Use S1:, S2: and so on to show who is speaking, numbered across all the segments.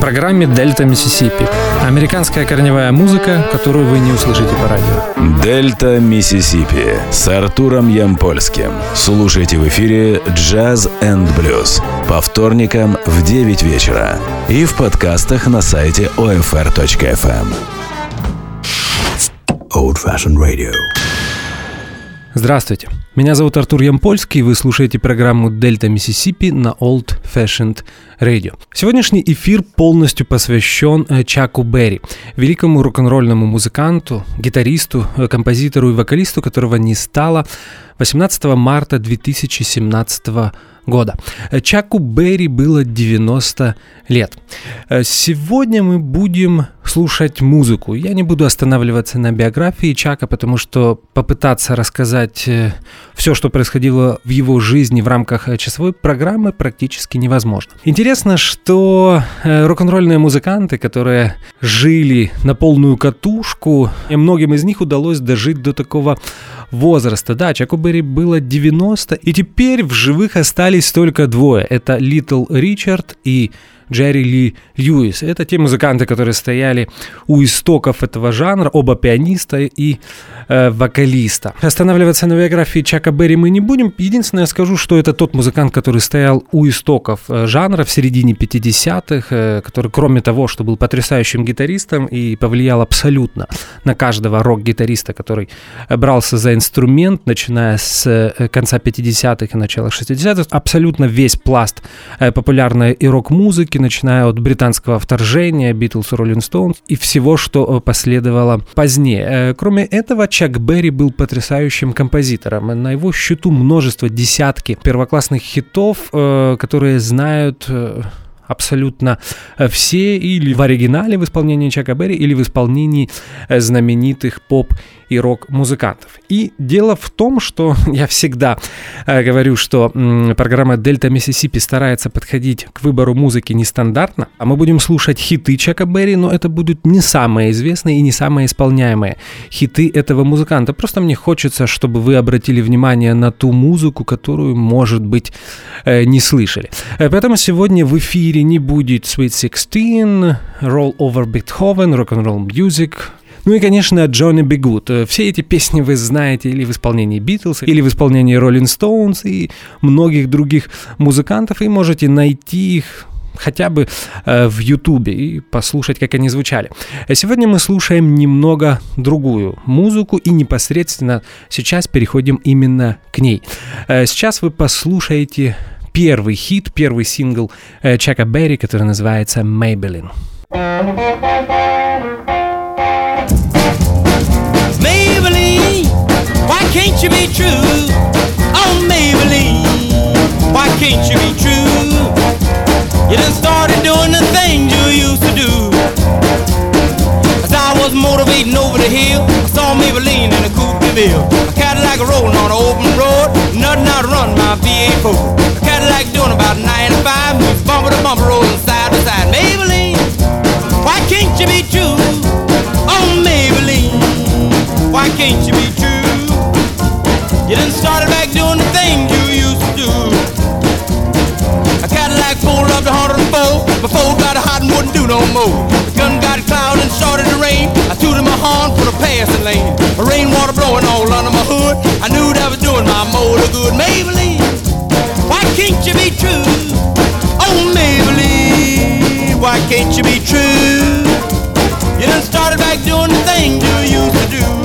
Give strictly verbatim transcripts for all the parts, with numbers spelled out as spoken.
S1: программе «Дельта Миссисипи». Американская корневая музыка, которую вы не услышите по радио.
S2: «Дельта Миссисипи» с Артуром Ямпольским. Слушайте в эфире «Джаз энд блюз» по вторникам в девять вечера и в подкастах на сайте о эф эр точка эф эм.
S3: Old Fashioned Radio.
S1: Здравствуйте, меня зовут Артур Ямпольский, и вы слушаете программу «Дельта Миссисипи» на Old Fashioned Radio. Сегодняшний эфир полностью посвящен Чаку Берри, великому рок-н-ролльному музыканту, гитаристу, композитору и вокалисту, которого не стало восемнадцатого марта две тысячи семнадцатого года. Чаку Берри было девяносто лет. Сегодня мы будем слушать музыку. Я не буду останавливаться на биографии Чака, потому что попытаться рассказать все, что происходило в его жизни в рамках часовой программы, практически невозможно. Интересно, что рок-н-ролльные музыканты, которые жили на полную катушку, и многим из них удалось дожить до такого возраста. Да, Чаку Берри было девяносто, и теперь в живых остались только двое. Это Литл Ричард и Джерри Ли Льюис. Это те музыканты, которые стояли у истоков этого жанра, оба пианиста и э, вокалиста. Останавливаться на биографии Чака Берри мы не будем. Единственное, я скажу, что это тот музыкант, который стоял у истоков э, жанра в середине пятидесятых, э, который, кроме того, что был потрясающим гитаристом и повлиял абсолютно на каждого рок-гитариста, который брался за инструмент, начиная с э, конца пятидесятых и начала шестидесятых, абсолютно весь пласт э, популярной и рок-музыки, начиная от британского вторжения, Beatles, Rolling Stones и всего, что последовало позднее. Кроме этого, Чак Берри был потрясающим композитором. На его счету множество, десятки первоклассных хитов, которые знают абсолютно все или в оригинале в исполнении Чака Берри, или в исполнении знаменитых поп- и рок-музыкантов. И дело в том, что я всегда э, говорю, что м, программа «Дельта Миссисипи» старается подходить к выбору музыки нестандартно, а мы будем слушать хиты Чака Берри, но это будут не самые известные и не самые исполняемые хиты этого музыканта. Просто мне хочется, чтобы вы обратили внимание на ту музыку, которую, может быть, э, не слышали. Э, поэтому сегодня в эфире не будет Sweet sixteen, Roll Over Beethoven, Rock'n'Roll Music, ну и, конечно, Джонни Би Гуд. Все эти песни вы знаете или в исполнении Beatles, или в исполнении Rolling Stones и многих других музыкантов, и можете найти их хотя бы э, в Ютубе и послушать, как они звучали. Сегодня мы слушаем немного другую музыку, и непосредственно сейчас переходим именно к ней. Э, сейчас вы послушаете первый хит, первый сингл э, Чака Берри, который называется «Maybelline».
S4: Maybelline, why can't you be true? Oh, Maybelline, why can't you be true? You done started doing the things you used to do. As I was motivating over the hill, I saw Maybelline in a coupe de ville. A Cadillac rolling on an open road, nothing out to run my V eight Ford. A Cadillac doing about ninety-five, moves bumper to bumper, rolling side to side. Maybelline, why can't you be true? Oh, Maybelline, why can't you be true? You done started back doing the things you used to do. A Cadillac pulled up to one oh four, before got hot and wouldn't do no more. The gun got cloud and started to rain. I tooted my horn for the passing lane. The rainwater blowing all under my hood. I knew that was doing my motor good. Maybelline, why can't you be true? Oh, Maybelline, why can't you be true? You done started back doing the things you used to do.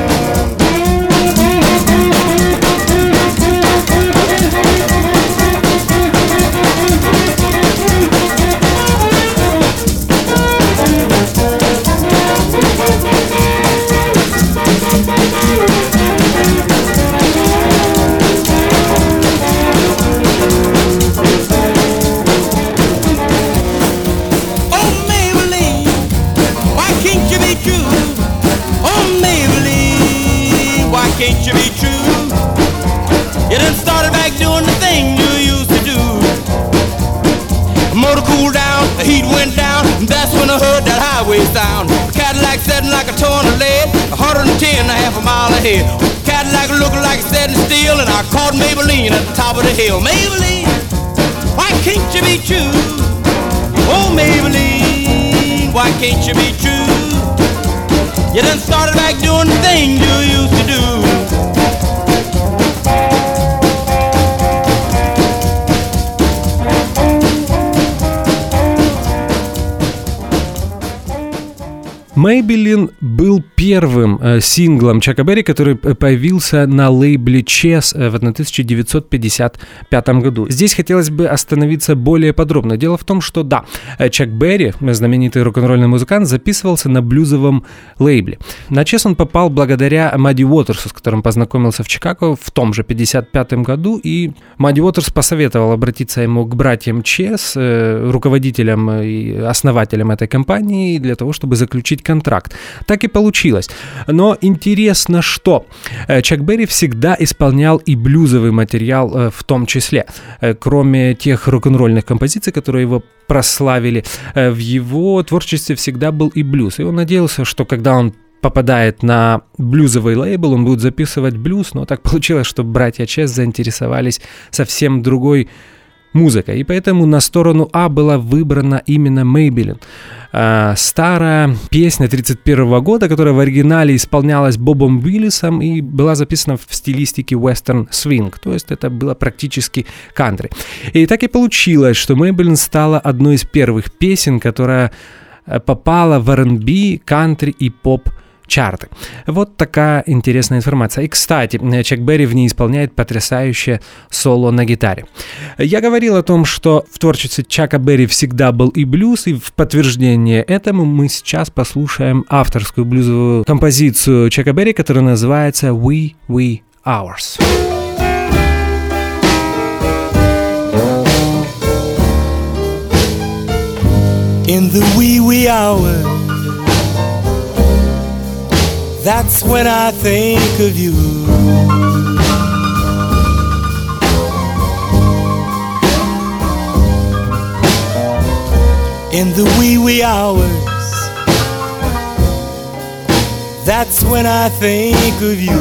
S4: Can't you be true? You done started back doing the thing you used to do. The motor cooled down, the heat went down, and that's when I heard that highway sound. The Cadillac setting like a ton of lead, one hundred ten and a half a mile ahead. Cadillac looking like it's setting steel, and I caught Maybelline at the top of the hill. Maybelline, why can't you be true? Oh, Maybelline, why can't you be true? You done started back doing the things you used to do.
S1: Maybelline был первым э, синглом Чака Берри, который появился на лейбле Chess в тысяча девятьсот пятьдесят пятом году. Здесь хотелось бы остановиться более подробно. Дело в том, что да, Чак Берри, знаменитый рок-н-ролльный музыкант, записывался на блюзовом лейбле. На Chess он попал благодаря Мадди Уотерсу, с которым познакомился в Чикаго в том же пятьдесят пятом году, и Мадди Уотерс посоветовал обратиться ему к братьям Chess, э, руководителям и основателям этой компании, для того, чтобы заключить контракт. Так и получилось. Но интересно, что Чак Берри всегда исполнял и блюзовый материал в том числе. Кроме тех рок-н-ролльных композиций, которые его прославили, в его творчестве всегда был и блюз. И он надеялся, что когда он попадает на блюзовый лейбл, он будет записывать блюз, но так получилось, что братья Чес заинтересовались совсем другой музыкой, и поэтому на сторону А была выбрана именно Maybelline. А, старая песня тридцать первого года, которая в оригинале исполнялась Бобом Уиллисом и была записана в стилистике western swing, то есть это было практически кантри. И так и получилось, что Maybelline стала одной из первых песен, которая попала в ар энд би, кантри и поп чарты. Вот такая интересная информация. И, кстати, Чак Берри в ней исполняет потрясающее соло на гитаре. Я говорил о том, что в творчестве Чака Берри всегда был и блюз, и в подтверждение этому мы сейчас послушаем авторскую блюзовую композицию Чака Берри, которая называется «We, We, Ours».
S4: In the wee wee hours, that's when I think of you. In the wee wee hours, that's when I think of you.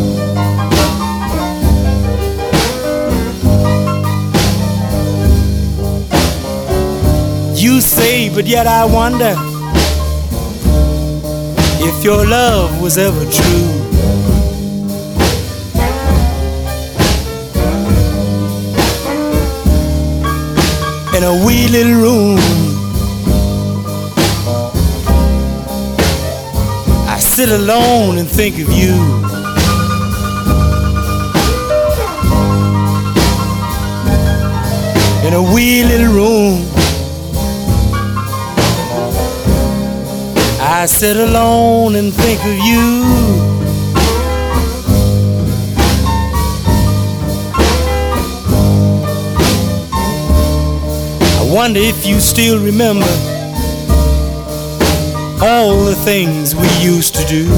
S4: You say, but yet I wonder if your love was ever true. In a wee little room, I sit alone and think of you. In a wee little room, I sit alone and think of you. I wonder if you still remember all the things we used to do.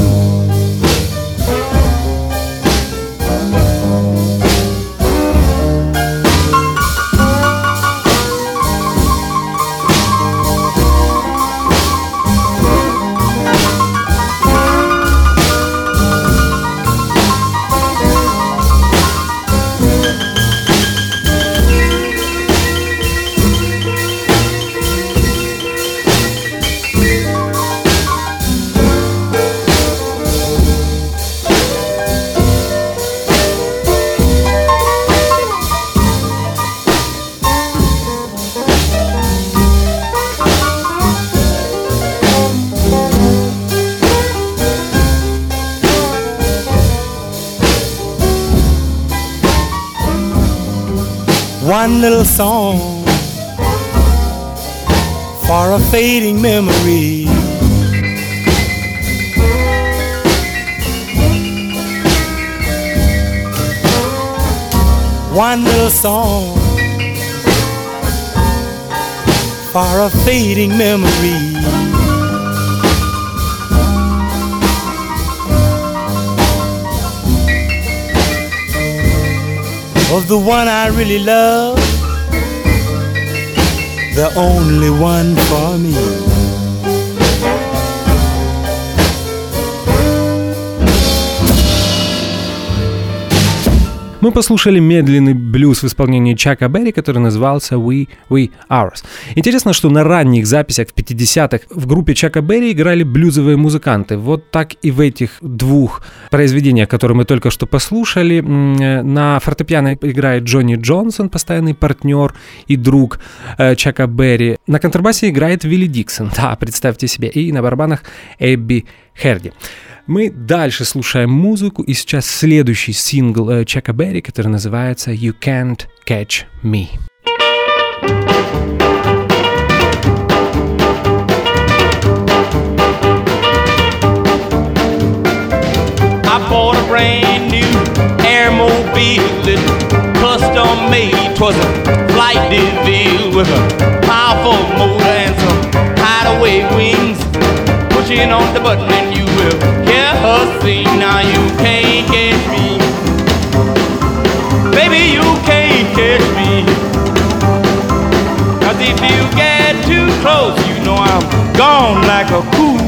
S4: One little song for a fading memory. One little song for a fading memory. Of the one I really love, the only one for me.
S1: Мы послушали медленный блюз в исполнении Чака Берри, который назывался «We, We, Ours». Интересно, что на ранних записях в пятидесятых в группе Чака Берри играли блюзовые музыканты. Вот так и в этих двух произведениях, которые мы только что послушали. На фортепиано играет Джонни Джонсон, постоянный партнер и друг Чака Берри. На контрабасе играет Вилли Диксон, да, представьте себе, и на барабанах Эбби Херди. Мы дальше слушаем музыку, и сейчас следующий сингл Чака Берри, который называется «You Can't Catch Me».
S4: I bought a brand new Airmobile that custom made. 'Twas a flight DeVille with a powerful motor and some hideaway wings. Pushing on the button and you will hear her sing. Now you can't catch me, baby, you can't catch me. 'Cause if you get too close, you know I'm gone like a cool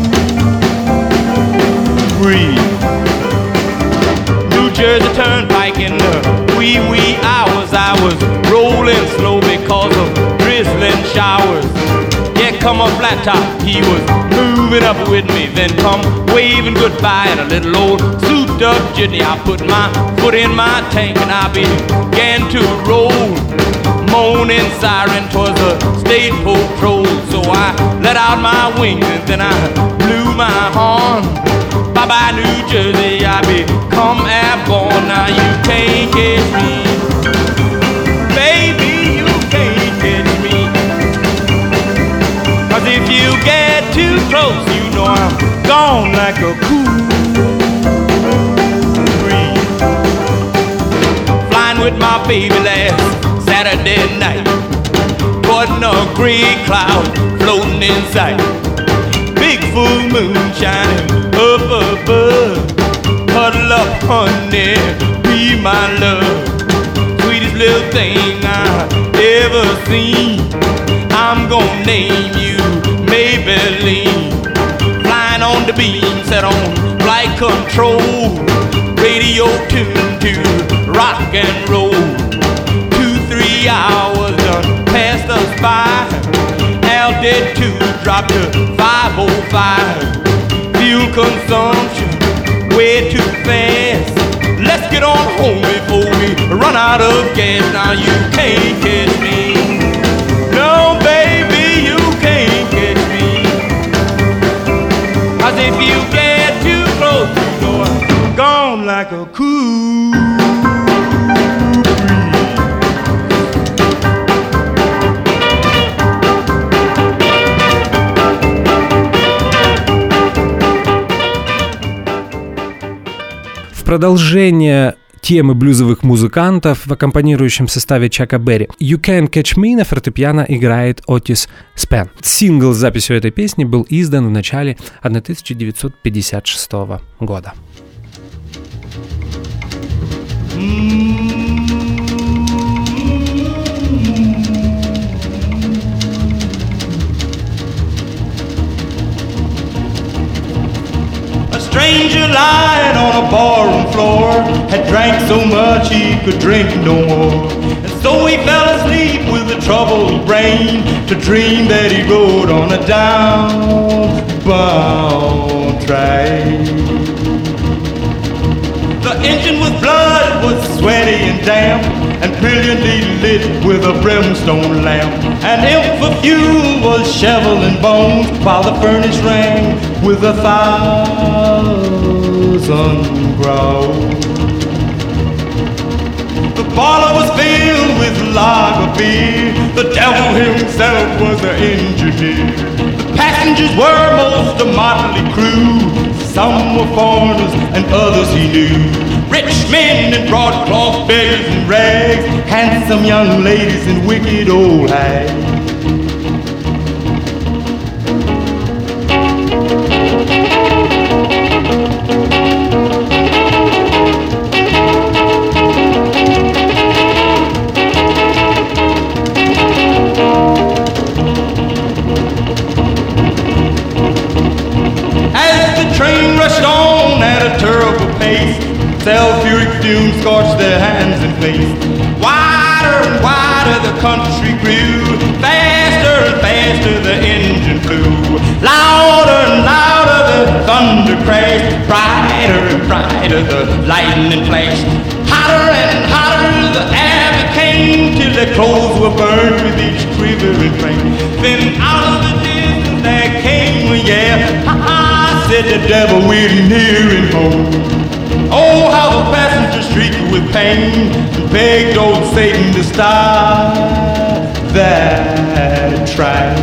S4: breeze. New Jersey Turnpike in the wee wee hours, I was rolling slow because of drizzling showers. Yeah, come a flat top, he was moving up with me, then come waving goodbye in a little old souped up jitney. I put my foot in my tank and I began to roll. Moaning siren, 'twas a state patrol. So I let out my wings and then I blew my horn. Bye-bye New Jersey, I become airborne. Now you can't catch me, baby, you can't catch me. 'Cause if you get too close, you know I'm gone like a cool breeze. Flying with my baby last Saturday night, wasn't a gray cloud floating in sight. Big full moon shining up above. Huddle up, honey, be my love. Sweetest little thing I've ever seen. I'm gonna name you Maybelline. Flying on the beam, set on flight control. Radio tuned to rock and roll. Two, three hours done passed us by. Altitude dropped to five oh five. Fuel consumption way too fast. Let's get on home before we run out of gas. Now you can't catch me, no baby, you can't catch me. 'Cause if you get too close, you know I'm gone like a cool breeze.
S1: В продолжение темы блюзовых музыкантов в аккомпанирующем составе Чака Берри «You Can't Catch Me» на фортепиано играет Отис Спен. Сингл с записью этой песни был издан в начале тысяча девятьсот пятьдесят шестого года.
S4: Stranger lying on a barroom floor had drank so much he could drink no more, and so he fell asleep with a troubled brain to dream that he rode on a downbound train. The engine with blood was sweaty and damp and brilliantly lit with a brimstone lamp, and if for fuel was shoveling bones while the furnace rang with a thousand growls. The parlor was filled with lager beer. The devil himself was the engineer. The passengers were most a motley crew. Some were foreigners and others he knew. Rich men in broadcloth, beggars in rags, handsome young ladies and wicked old hags. As the train rushed on at a terrible pace, sulfuric
S3: fumes scorched their hands and face. Wider and wider the country grew, faster and faster the engine flew. Louder and louder the thunder crashed, brighter and brighter the lightning flashed. Hotter and hotter the air became, till their clothes were burned with each quivering flame. Then out of the distance there came a yell, ha ha, said the devil, we're nearing home. Oh, how the passengers shrieked with pain and begged old Satan to stop that train.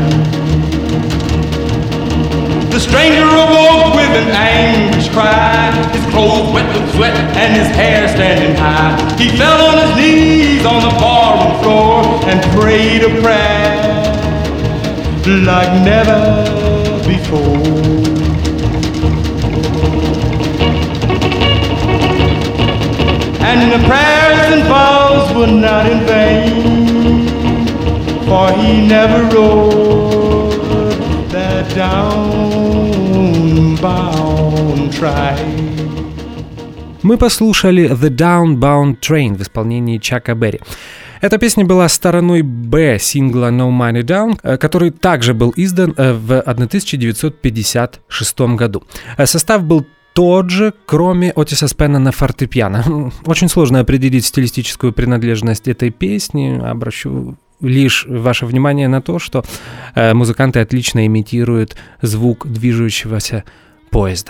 S3: The stranger awoke with an anguish cry, his clothes wet with sweat and his hair standing high. He fell on his knees on the barroom floor and prayed a prayer like never before. And the prayers and vows were not in vain, for he never rode that downbound train.
S1: Мы послушали «The Downbound Train» в исполнении Чака Берри. Эта песня была стороной «Б» сингла «No Money Down», который также был издан в тысяча девятьсот пятьдесят шестом году. Состав был тот же, кроме Отиса Спенна на фортепиано. Очень сложно определить стилистическую принадлежность этой песни. Обращу лишь ваше внимание на то, что э, музыканты отлично имитируют звук движущегося поезда.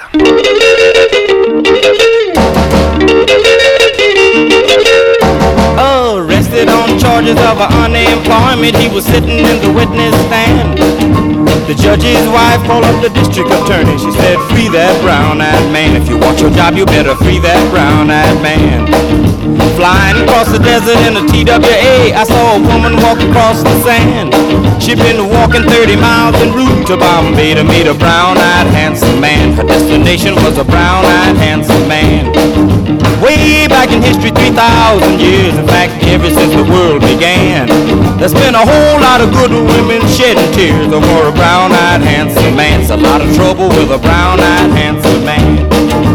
S4: Arrested on charges of unemployment, he was sitting in the witness stand. The judge's wife called up the district attorney. She said, free that brown-eyed man. If you want your job, you better free that brown-eyed man. Flying across the desert in a T W A, I saw a woman walk across the sand. She'd been walking thirty miles en route to Bombay to meet a brown-eyed handsome man. Her destination was a brown-eyed handsome man. Way back in history, three thousand years, in fact, ever since the world began, there's been a whole lot of good women shedding tears over a brown-eyed handsome man. It's a lot of trouble with a brown-eyed handsome man.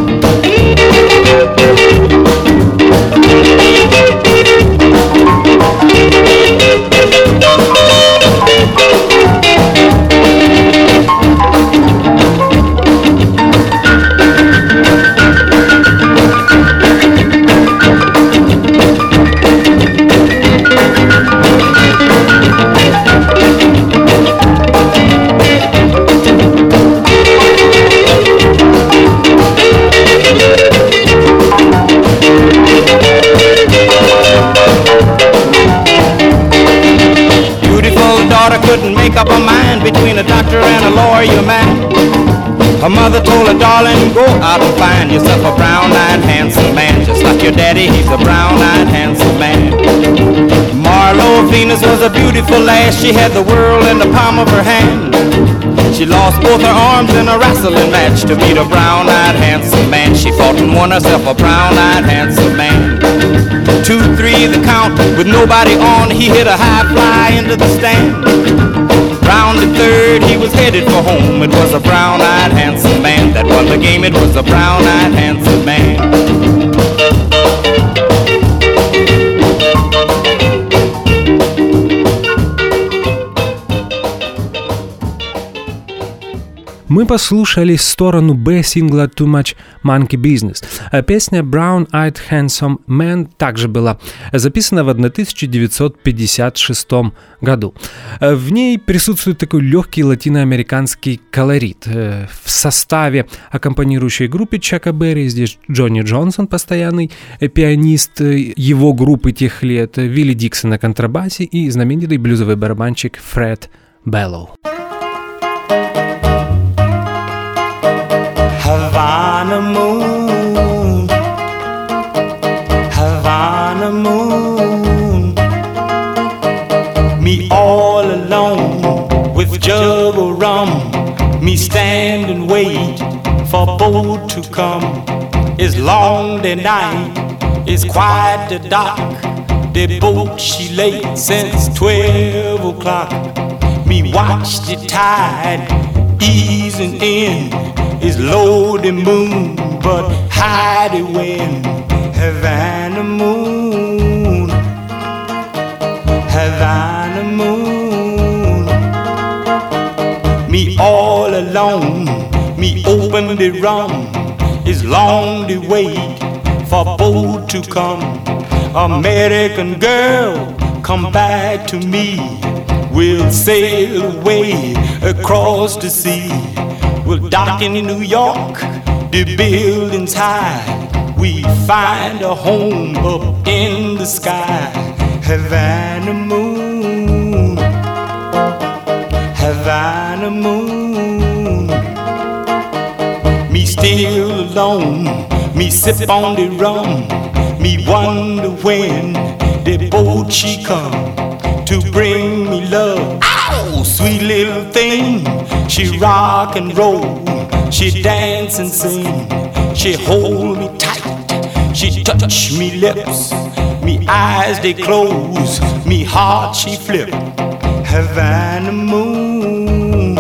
S4: Couldn't make up her mind between a doctor and a lawyer man. Her mother told her, darling, go out and find yourself a brown-eyed handsome man. Just like your daddy, he's a brown-eyed handsome man. Marlo Venus was a beautiful lass. She had the world in the palm of her hand. She lost both her arms in a wrestling match to meet a brown-eyed handsome man. She fought and won herself a brown-eyed handsome man. Two, three, the count, with nobody on, he hit a high fly into the stand. Round the third, he was headed for home. It was a brown-eyed handsome man that won the game. It was a brown-eyed handsome man.
S1: Мы послушали сторону Б сингла Too Much Monkey Business. Песня Brown Eyed Handsome Man также была записана в тысяча девятьсот пятьдесят шестом году. В ней присутствует такой легкий латиноамериканский колорит. В составе аккомпанирующей группы Чака Берри здесь Джонни Джонсон, постоянный пианист его группы тех лет, Вилли Диксон на контрабасе и знаменитый блюзовый барабанщик Фред Беллоу.
S3: Havana moon, Havana moon, me all alone with jug of rum, me stand and wait for boat to come. It's long the night, it's quite the dark, the boat she late since twelve o'clock. Me watch the tide easing in. It's low the moon, but high the wind. Havana moon, Havana moon. Me all alone, me open the rum. It's long to wait for boat to come. American girl, come back to me. We'll sail away across the sea. We'll dock in New York, the buildings high. We find a home up in the sky. Havana moon, Havana moon. Me still alone, me sip on the rum. Me wonder when the boat she come to bring me love. Ow, sweet little thing. She rock and roll, she dance and sing. She hold me tight, she touch me lips. Me eyes they close, me heart she flip. Havana moon,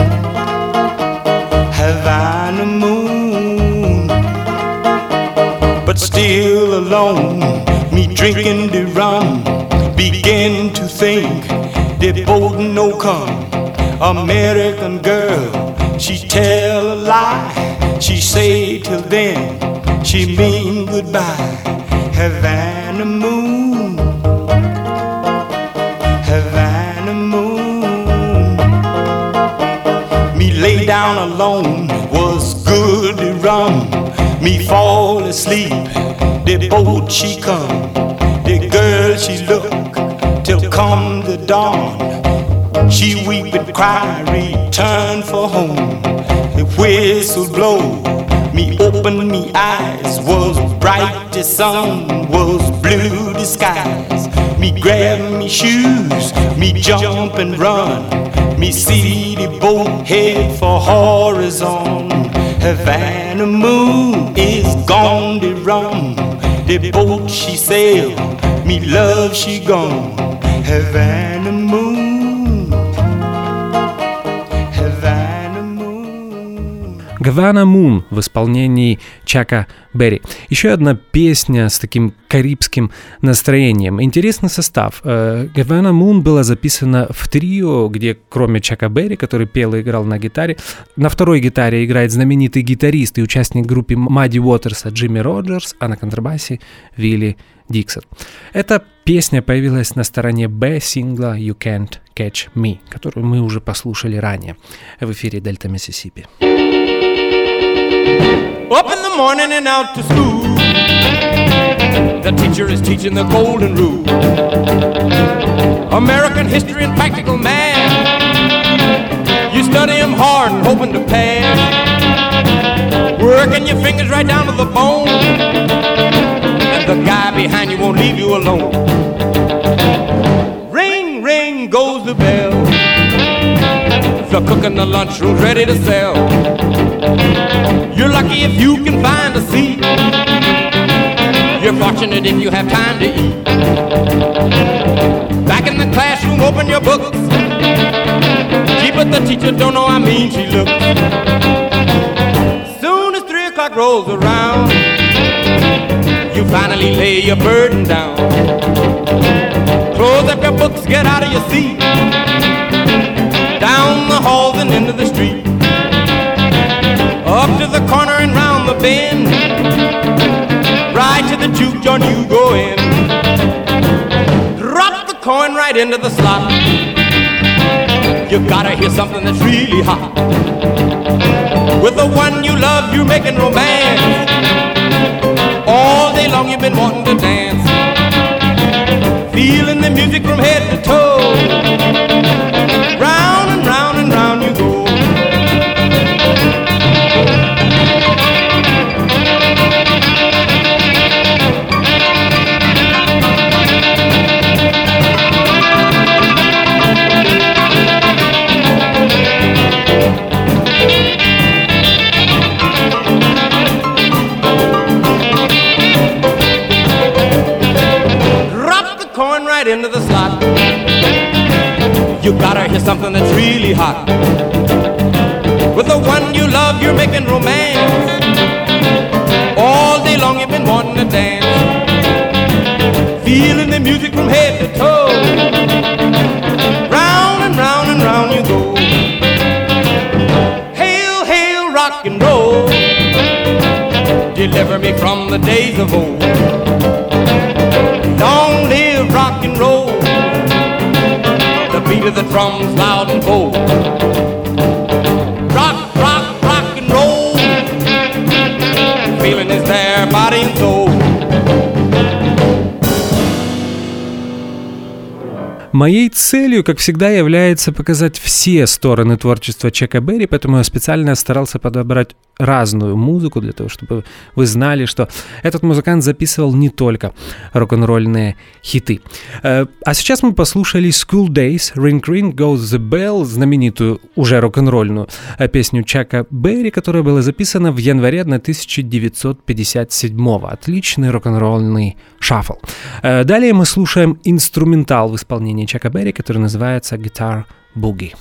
S3: Havana moon. But still alone, me drinking the rum. Begin to think the boat no come. American girl, she tell a lie. She say till then, she mean goodbye. Havana moon, Havana moon. Me lay down alone, was good to rum. Me fall asleep, the boat she come. The girl she look, till come the dawn. She weep and cry, return for home. The whistle blow, me open me eyes. Was bright the sun, was blue the skies. Me grab me shoes, me jump and run. Me see the boat head for horizon. Havana moon is gone to rum. The boat she sail, me love she gone. Havana moon, Havana moon.
S1: Havana Moon в исполнении Чака Берри. Еще одна песня с таким карибским настроением. Интересный состав. Havana Moon была записана в трио, где кроме Чака Берри, который пел и играл на гитаре, на второй гитаре играет знаменитый гитарист и участник группы Мадди Уотерса Джимми Роджерс, а на контрабасе Вилли Диксон. Эта песня появилась на стороне Б сингла You Can't Catch Me, которую мы уже послушали ранее в эфире Дельта Миссисипи.
S4: Up in the morning and out to school. The teacher is teaching the golden rule. American history and practical math. You study them hard and hoping to pass. Working your fingers right down to the bone. And the guy behind you won't leave you alone. Ring, ring goes the bell. The cook in the lunchroom's ready to sell. You're lucky if you can find a seat. You're fortunate if you have time to eat. Back in the classroom, open your books. Gee, but the teacher don't know how mean she looks. Soon as three o'clock rolls around, you finally lay your burden down. Close up your books, get out of your seat. Down the halls and into the street. Up to the corner and round the bend. Right to the juke joint you go in. Drop the coin right into the slot. You gotta hear something that's really hot. With the one you love, you're making romance. All day long you've been wanting to dance. Feeling the music from head to toe. Round and round and round you go. Into the slot. You gotta hear something that's really hot. With the one you love, you're making romance. All day long you've been wanting to dance.
S3: deliver me from the days of old. Long live rock and roll, the beat of the drums loud and bold. Rock, rock, rock and roll, feeling is there, body and soul.
S1: Моей целью, как всегда, является показать все стороны творчества Чака Берри, поэтому я специально старался подобрать разную музыку для того, чтобы вы знали, что этот музыкант записывал не только рок-н-ролльные хиты. А сейчас мы послушали School Days, Ring Ring Goes the Bell, знаменитую уже рок-н-ролльную песню Чака Берри, которая была записана в январе тысяча девятьсот пятьдесят седьмого. Отличный рок-н-ролльный шаффл. Далее мы слушаем инструментал в исполнении Чака Берри, который называется Guitar Boogie.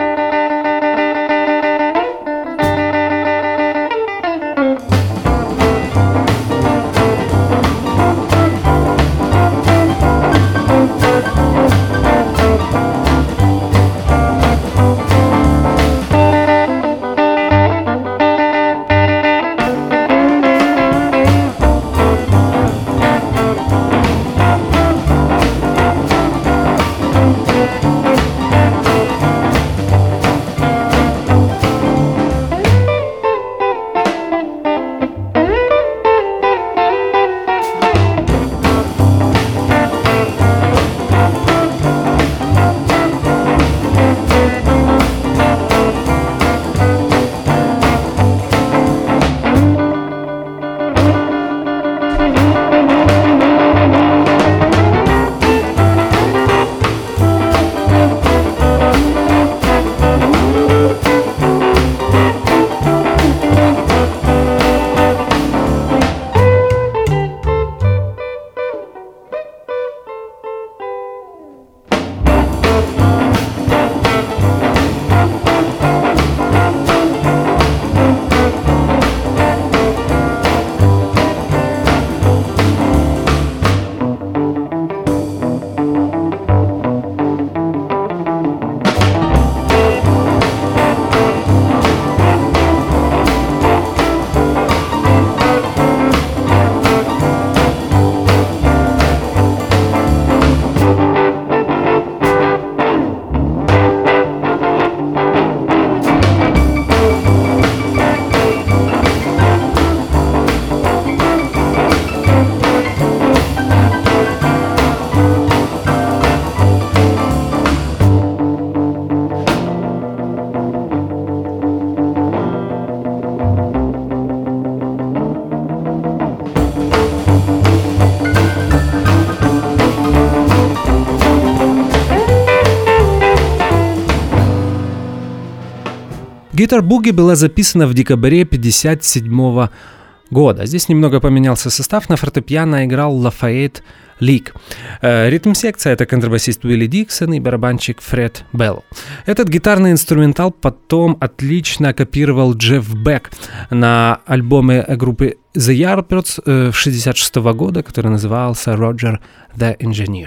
S1: Guitar Boogie была записана в декабре пятьдесят седьмого года. Здесь немного поменялся состав. На фортепиано играл Лафайет Лик. Ритм-секция — это контрабасист Уилли Диксон и барабанщик Фред Белл. Этот гитарный инструментал потом отлично копировал Джефф Бек на альбоме группы The Yardbirds шестьдесят шестого года, который назывался Roger the Engineer.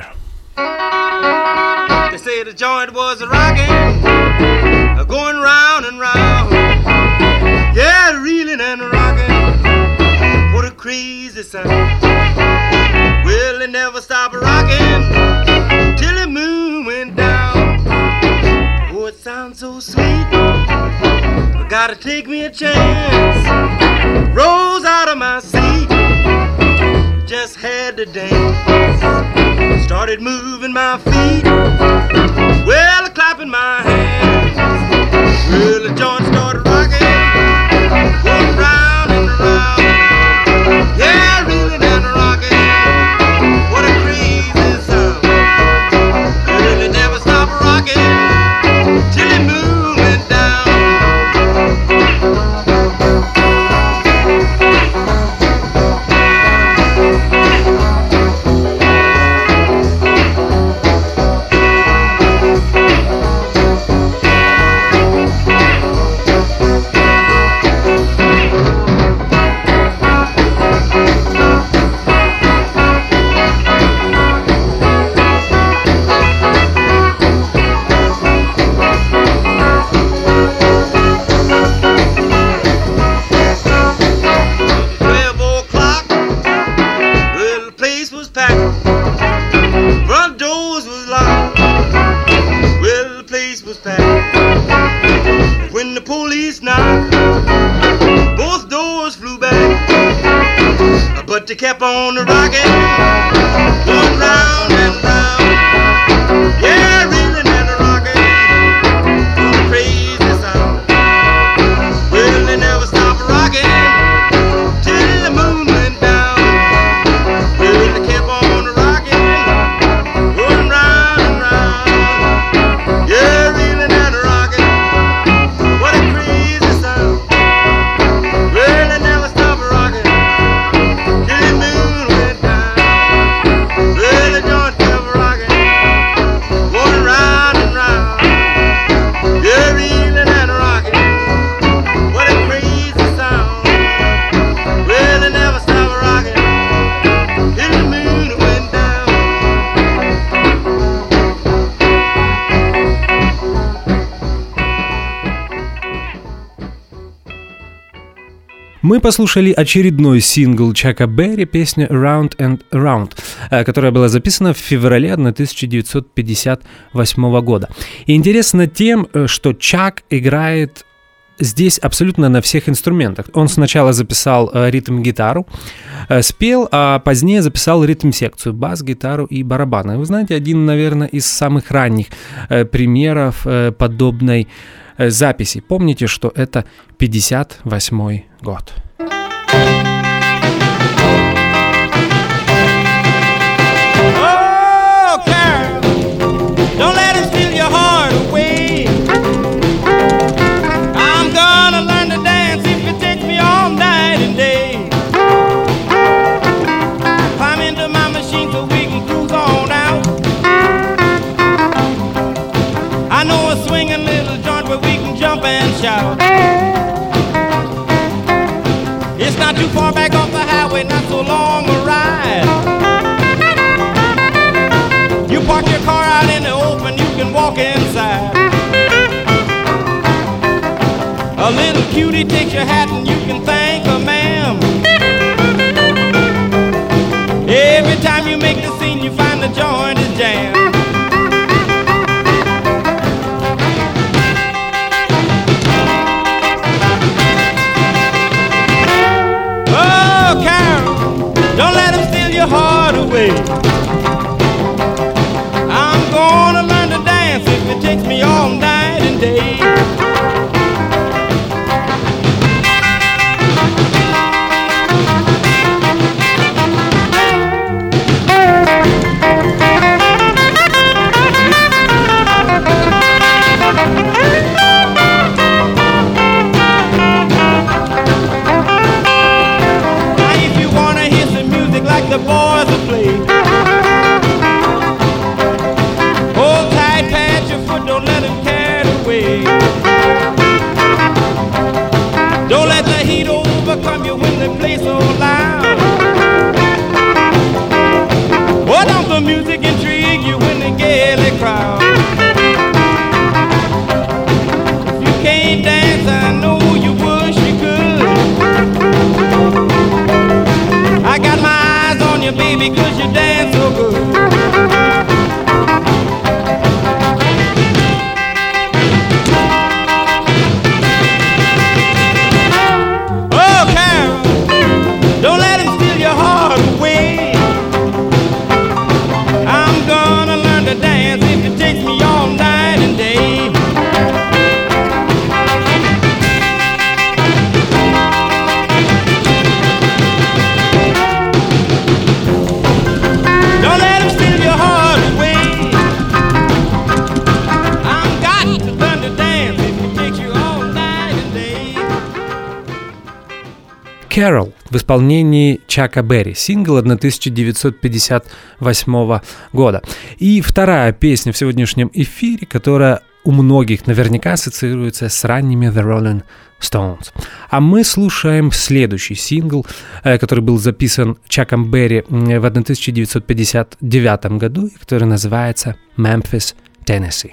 S3: They say the joint was rocking, going round and round. Yeah, reeling and rocking. What a crazy sound. Well, it never stopped rocking till the moon went down. Oh, it sounds so sweet. I gotta take me a chance. Rose out of my seat, just had to dance. Started moving my feet, well, clapping my hands. Well, the joint started rocking, going round and round. Yeah, reeling and rocking. What a crazy sound. Well, it never stopped rocking till the moon went down. case now. Both doors flew back, but they kept on rocking, going round and round. Yeah, reeling and rocking, going crazy sound. Well, they never stopped rocking till the moon went down. Well, they kept on rocking, going round and round. Yeah, reeling and rocking, what a crazy sound. Well, they never stopped rocking till the moon went down. Well, the joint kept rocking, going round and round. Yeah, reeling and rocking, what a crazy sound. Well, they never stopped rocking till the moon went down.
S1: Мы послушали очередной сингл Чака Берри, песня «Around and Around», которая была записана в феврале тысяча девятьсот пятьдесят восьмого года. И интересно тем, что Чак играет здесь абсолютно на всех инструментах. Он сначала записал ритм-гитару, спел, а позднее записал ритм-секцию, бас-гитару и барабаны. Вы знаете, один, наверное, из самых ранних примеров подобной записи. Помните, что это пятьдесят восьмой год.
S4: Oh, Carol, don't let him steal your heart away. I'm gonna learn to dance if it takes me all night and day. Climb into my machine so we can cruise on out. I know a swinging little joint where we can jump and shout. It's not too far back off the highway, not so long a ride. You park your car out in the open, you can walk inside. A little cutie takes your hat and you can thank her, ma'am. Every time you make the scene, you find the joint is jammed. Oh, Carol, don't let him steal your heart away. I'm gonna learn to dance if it takes me all night and day. The boys will play. Hold tight, pat your foot, don't let him carry away. Don't let the heat overcome you when they play so loud. Or don't the music intrigue you when they gaily crowd. If you can't dance, I know you wish you could. I got my eyes on you, baby, 'cause you dance so good. Oh, Carol, don't let him steal your heart away. I'm gonna learn to dance if it takes me all night and day. Don't let him steal your heart away. I'm got to learn to dance if it takes you all night and day.
S1: Carol в исполнении Чака Берри, сингл тысяча девятьсот пятьдесят восьмого года. И вторая песня в сегодняшнем эфире, которая у многих наверняка ассоциируется с ранними The Rolling Stones. А мы слушаем следующий сингл, который был записан Чаком Берри в тысяча девятьсот пятьдесят девятом году, который называется «Memphis, Tennessee».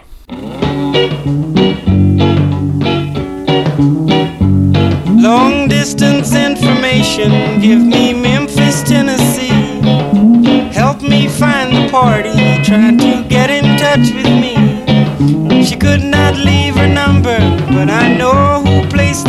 S4: Long distance information, give me Memphis, Tennessee. Help me find the party, try to get in touch with me. She could not leave her number, but I know who placed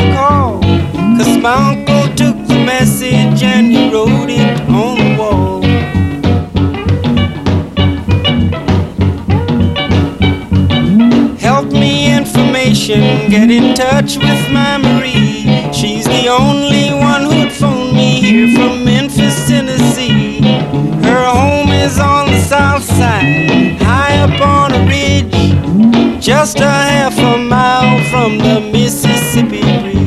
S4: in touch with my Marie. She's the only one who'd phone me here from Memphis, Tennessee. Her home is on the south side, high up on a ridge, just a half a mile from the Mississippi Bridge.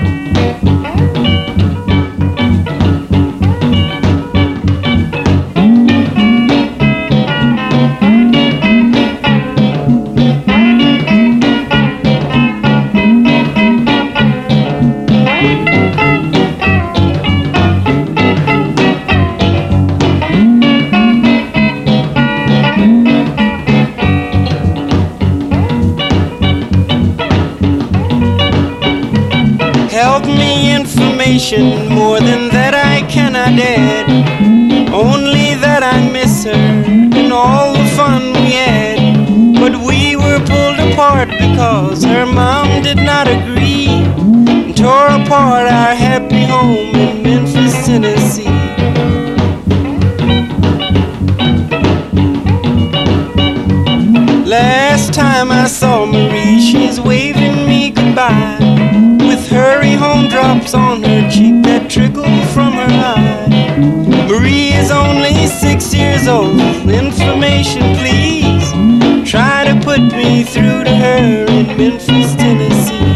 S4: More than that I cannot add, only that I miss her and all the fun we had. But we were pulled apart because her mom did not agree, and tore apart our happy home in Memphis, Tennessee. Last time I saw Marie, she's waving me goodbye, with hurry home drops on her cheek that trickle from her eye. Marie is only six years old. Information, please. Try to put me through to her in Memphis, Tennessee.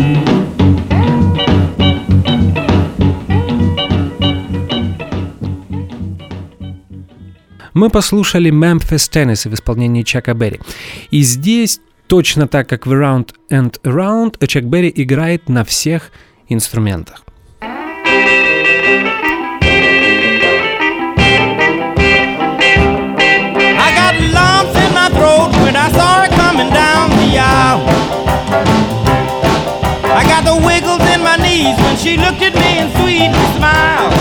S1: Мы послушали Memphis, Tennessee в исполнении Чака Берри. И здесь, точно так как в Around and Around, Чак Берри играет на всех инструментах.
S4: I got lumps in my throat when I saw her coming down the aisle. I got the wiggles in my knees when she looked at me and sweetly smiled.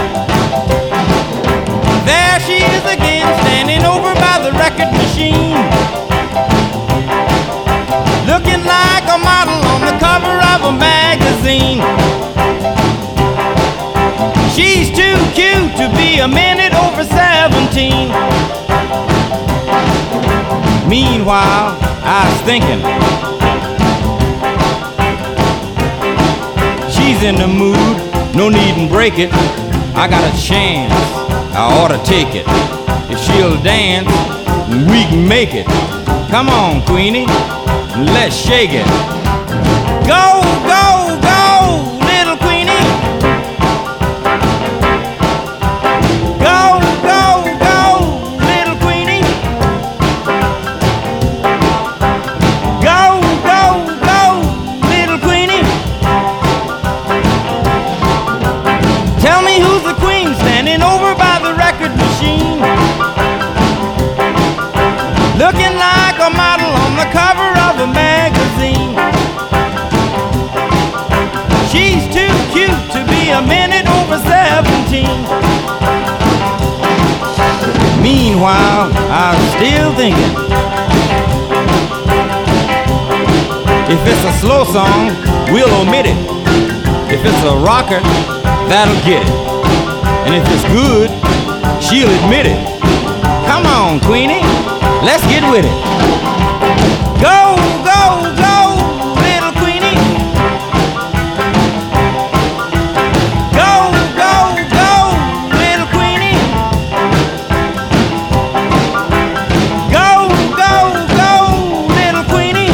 S4: There she is again, standing over by the record machine, looking like a model on the cover of a magazine. She's too cute to be a minute over seventeen. Meanwhile, I was thinking, she's in the mood, no need to break it. I got a chance, I ought to take it. If she'll dance, we can make it. Come on, Queenie, let's shake it. Go, go, go, little Queenie. Go, go, go, little Queenie. Go, go, go, little Queenie. Tell me who's the queen standing over by the record machine, looking like a model on the cover of a magazine. She's too cute to be a minute over seventeen. Meanwhile, I'm still thinking, if it's a slow song, we'll omit it. If it's a rocker, that'll get it. And if it's good, she'll admit it. Come on, Queenie, let's get with it. Go, go, go, little Queenie. Go, go, go, little Queenie. Go, go, go, little Queenie.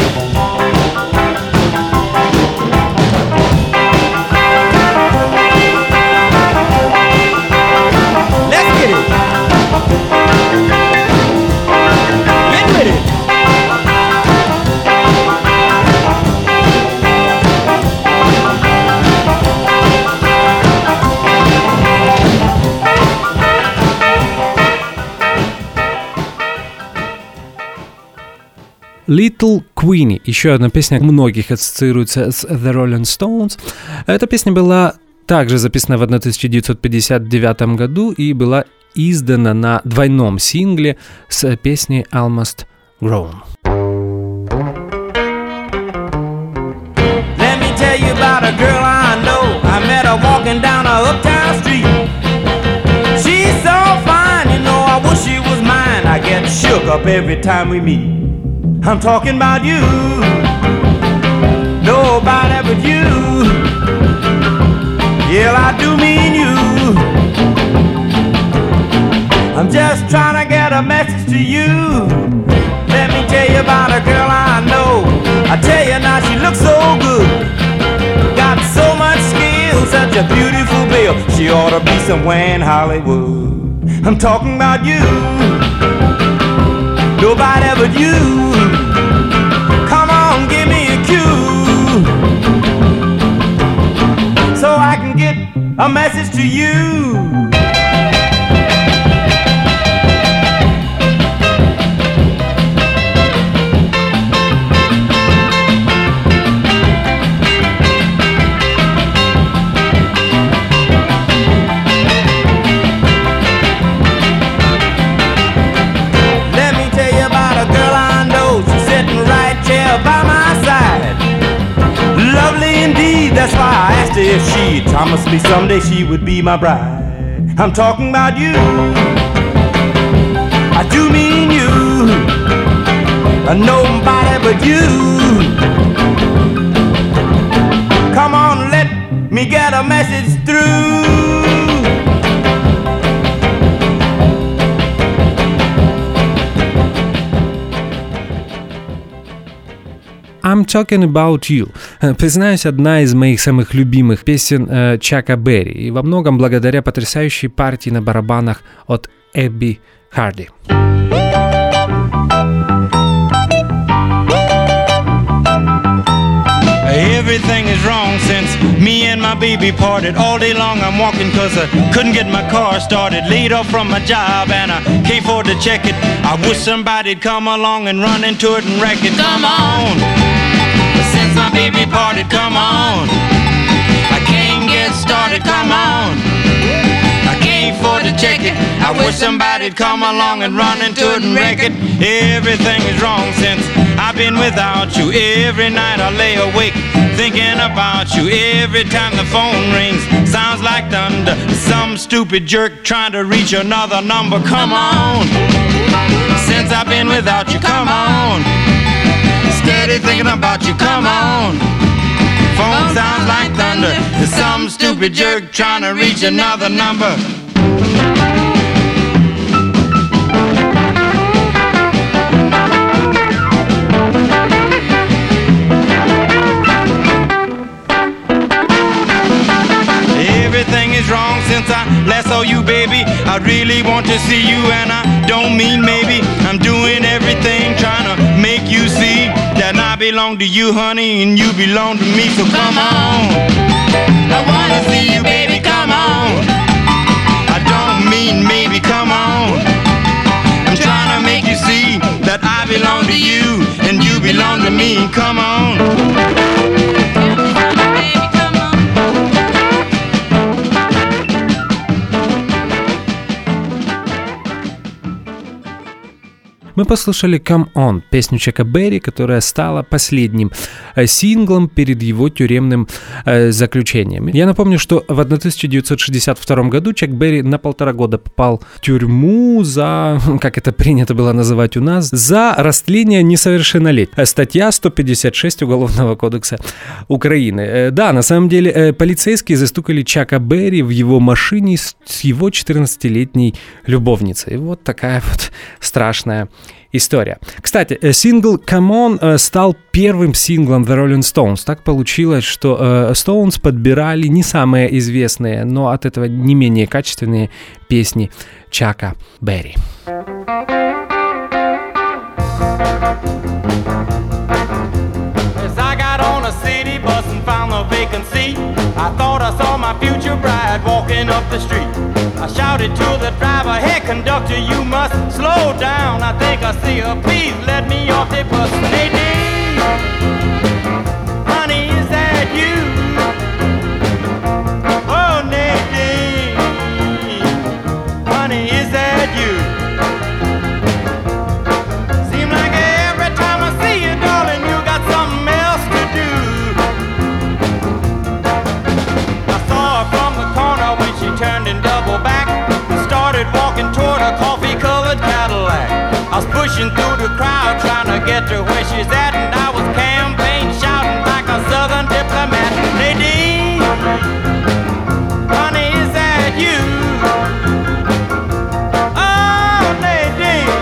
S4: Let's get it. Get with it.
S1: Little Queenie, еще одна песня, многих ассоциируется с The Rolling Stones. Эта песня была также записана в тысяча девятьсот пятьдесят девятом году и была издана на двойном сингле с песней Almost Grown.
S4: Let me tell you about a girl I know. I met her walking down a uptown street. She's so fine, you know, I wish she was mine. I get shook up every time we meet. I'm talking about you. No
S3: a message to you. Let me tell you about a girl I know. I tell you now, she looks so good. Got so much skill, such a beautiful bill. She ought to be somewhere in Hollywood. I'm talking about you, nobody but you. Come on, give me a cue, so I can get a message to you. By my side, lovely indeed. That's why I asked her if she'd promise me someday she would be my bride. I'm talking about you, I do mean you, nobody but you. Come on, let me get a message through.
S1: I'm Talking About You. Признаюсь, одна из моих самых любимых песен э, Чака Берри, и во многом благодаря потрясающей партии на барабанах от Эбби Харди.
S4: Everything is wrong since me and my baby parted. All day long I'm walking cause I couldn't get my car started. Laid off from my job and I can't afford to check it. I wish somebody'd come along and run into it and wreck it. Come on, since my baby parted, come on. I can't get started, come on. I can't afford to check it. I wish somebody'd come along and run into it and wreck it. Everything is wrong since I've been without you. Every night I lay awake thinking about you. Every time the phone rings, sounds like thunder. Some stupid jerk trying to reach another number. Come on, since I've been without you, come on. Steady thinking about you, come on. Phone sounds like thunder. There's some stupid jerk trying to reach another number. Everything is wrong since I last saw you, baby. I really want to see you and I don't mean maybe. I'm doing everything trying to make you see that I belong to you, honey, and you belong to me. So come on, I wanna see you, baby, come on. I don't mean maybe, come on. I'm trying to make you see that I belong to you and you belong to me. Come on.
S1: Мы послушали «Come On», песню Чака Берри, которая стала последним э, синглом перед его тюремным э, заключением. Я напомню, что в тысяча девятьсот шестьдесят втором году Чак Берри на полтора года попал в тюрьму за, как это принято было называть у нас, за растление несовершеннолетних. Статья сто пятьдесят шесть Уголовного кодекса Украины. Э, да, на самом деле э, полицейские застукали Чака Берри в его машине с, с его четырнадцатилетней любовницей. И вот такая вот страшная история. Кстати, сингл «Come On» стал первым синглом The Rolling Stones. Так получилось, что э, Stones подбирали не самые известные, но от этого не менее качественные песни Чака Берри.
S3: I thought I saw my future bride walking up the street. I shouted to the driver, hey conductor, you must slow down. I think I see her, please let me off the bus. Nadine, honey, is that you? Oh, Nadine, honey, is that you? Seem like every time I see you, darling, you got something else to do. From the corner when she turned and doubled back and started walking toward a coffee-colored Cadillac. I was pushing through the crowd trying to get to where she's at, and I was campaign shouting like a southern diplomat. Nadine, honey, is that you? Oh, Nadine,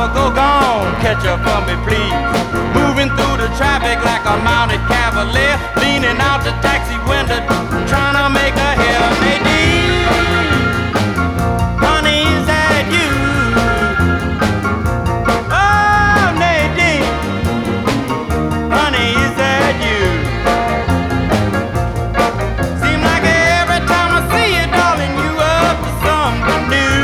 S3: mama, go gone, catch up for me, please. Moving through the traffic like a mounted cavalier, leaning out the taxi window, trying to make a hair. Nadine, honey, is that you? Oh, Nadine, honey, is that you? Seems like every time I see you, darling, you up to something new.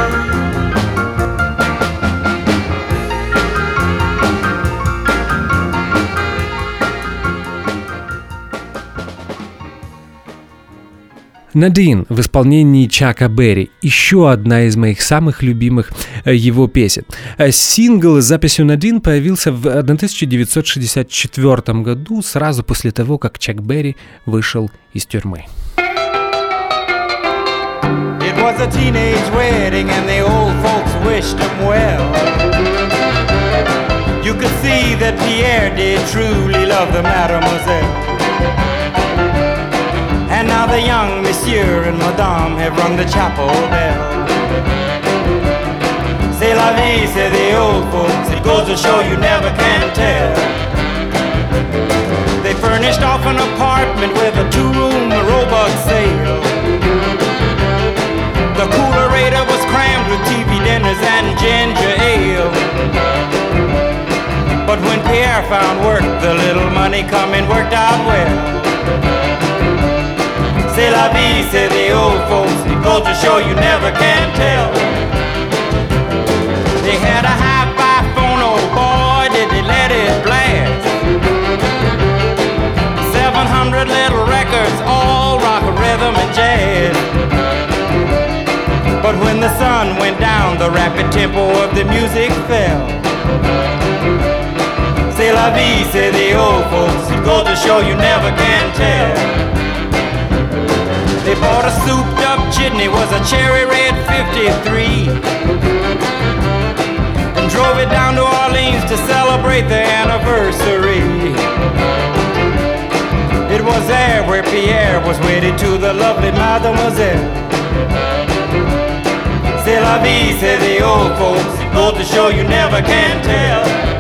S1: Надин в исполнении Чака Берри. Еще одна из моих самых любимых его песен. Сингл с записью Надин появился в тысяча девятьсот шестьдесят четвёртом году, сразу после того, как Чак Берри вышел из тюрьмы.
S3: It was a teenage wedding and the old folks wished him well. You could see that Pierre did truly love the mademoiselle. And now the young monsieur and madame have rung the chapel bell. C'est la vie, say the old folks, it goes to show you never can tell. They furnished off an apartment with a two-room robot sale. The coolerator was crammed with T V dinners and ginger ale. But when Pierre found work, the little money coming worked out well. C'est la vie, say the old folks, it goes to show you never can tell. They had a hi-fi phone, oh boy, did they let it blast. Seven hundred little records, all rock, rhythm, and jazz. But when the sun went down, the rapid tempo of the music fell. C'est la vie, say the old folks, it goes to show you never can tell. They bought a souped-up jitney, was a cherry red fifty-three, and drove it down to Orleans to celebrate their anniversary. It was there where Pierre was wedded to the lovely mademoiselle. C'est la vie, say the old folks, it goes to show you never can tell.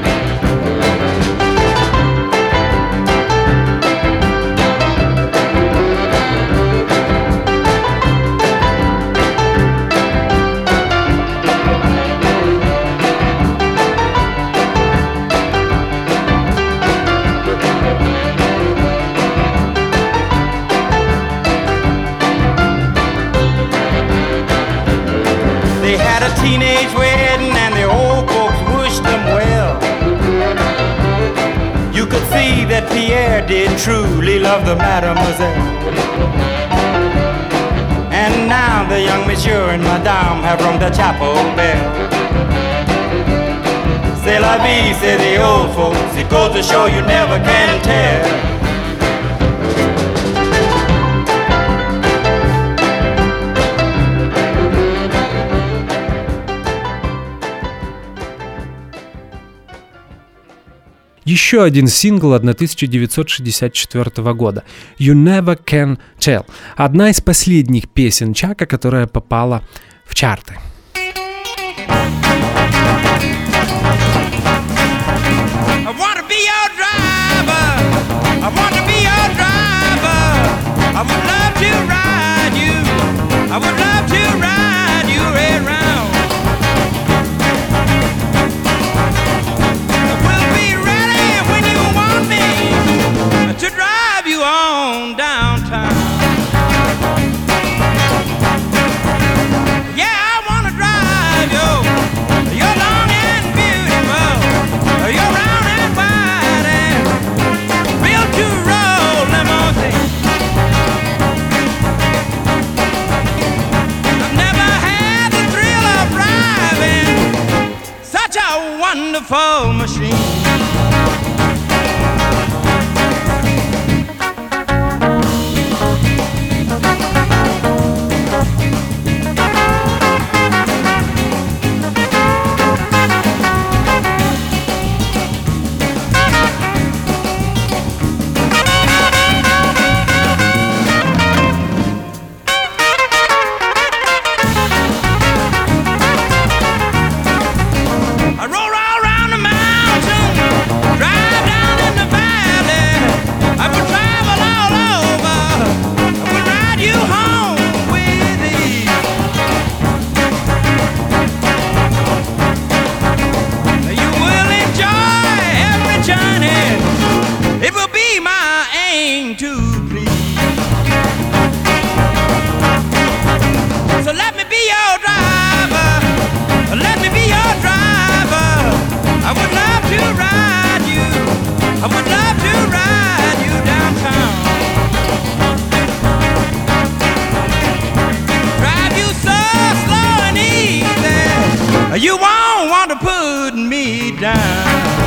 S3: Teenage wedding and the old folks wished them well. You could see that Pierre did truly love the mademoiselle. And now the young monsieur and madame have rung the chapel bell. C'est la vie, say the old folks, it goes to show you never can tell.
S1: Еще один сингл тысяча девятьсот шестьдесят четвёртого года «You Never Can Tell». Одна из последних песен Чака, которая попала в чарты.
S3: Wonderful machine. want to put me down.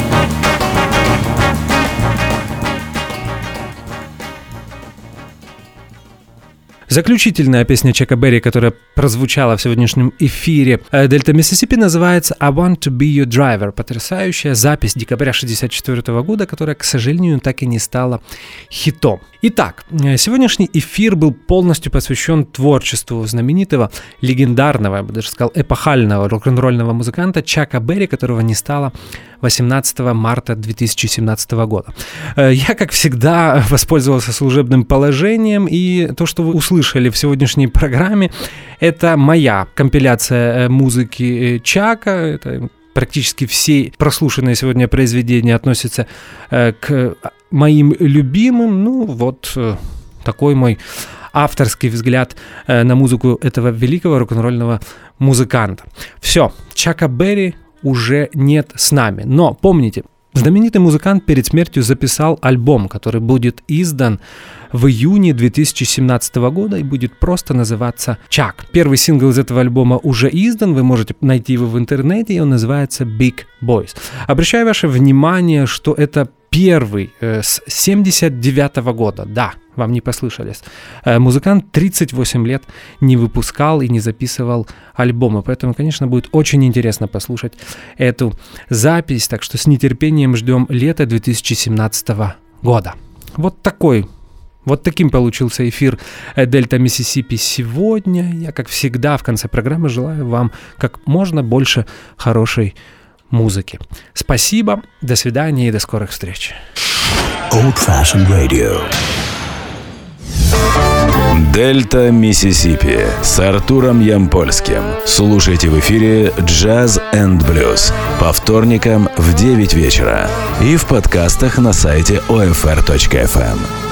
S1: Заключительная песня Чака Берри, которая прозвучала в сегодняшнем эфире Дельта Миссисипи, называется «I Want to Be Your Driver». Потрясающая запись декабря шестьдесят четвёртого года, которая, к сожалению, так и не стала хитом. Итак, сегодняшний эфир был полностью посвящен творчеству знаменитого, легендарного, я бы даже сказал, эпохального рок-н-ролльного музыканта Чака Берри, которого не стало восемнадцатого марта две тысячи семнадцатого года. Я, как всегда, воспользовался служебным положением, и то, что вы услышали в сегодняшней программе, это моя компиляция музыки Чака. Это практически все прослушанные сегодня произведения относятся к моим любимым. Ну, вот такой мой авторский взгляд на музыку этого великого рок-н-ролльного музыканта. Все, Чака Берри уже нет с нами. Но помните, знаменитый музыкант перед смертью записал альбом, который будет издан в июне две тысячи семнадцатого года и будет просто называться «Чак». Первый сингл из этого альбома уже издан, вы можете найти его в интернете, и он называется «Big Boys». Обращаю ваше внимание, что это первый э, с семьдесят девятого года, да, вам не послышались. Э, музыкант тридцать восемь лет не выпускал и не записывал альбомы, поэтому, конечно, будет очень интересно послушать эту запись, так что с нетерпением ждем лета две тысячи семнадцатого года. Вот такой, вот таким получился эфир Дельта Миссисипи сегодня. Я, как всегда, в конце программы желаю вам как можно больше хорошей музыки. Спасибо, до свидания и до скорых встреч.
S2: Old Fashioned Radio. Дельта Миссисипи с Артуром Ямпольским. Слушайте в эфире Jazz энд Blues по вторникам в девять вечера и в подкастах на сайте о эф эр точка эф эм.